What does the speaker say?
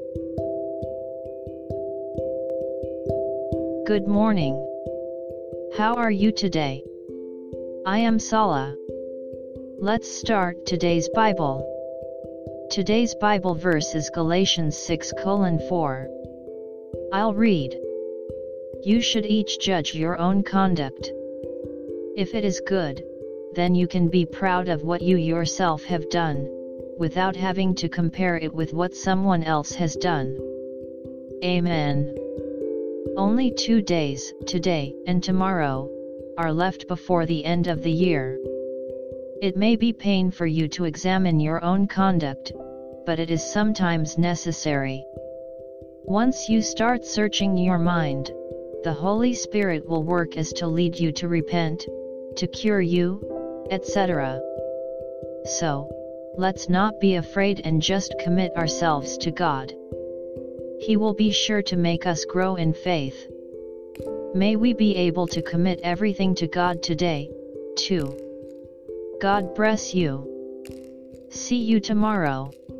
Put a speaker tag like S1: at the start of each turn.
S1: Good morning. How are you today? I am Sala. Let's start today's Bible. Today's Bible verse is Galatians 6:4. I'll read. You should each judge your own conduct. If it is good, then you can be proud of what you yourself have done, without having to compare it with what someone else has done. Amen. Only 2 days, today and tomorrow, are left before the end of the year. It may be pain for you to examine your own conduct, but it is sometimes necessary. Once you start searching your mind, the Holy Spirit will work as to lead you to repent, to cure you, etc. So, let's not be afraid and just commit ourselves to God. He will be sure to make us grow in faith. May we be able to commit everything to God today, too. God bless you. See you tomorrow.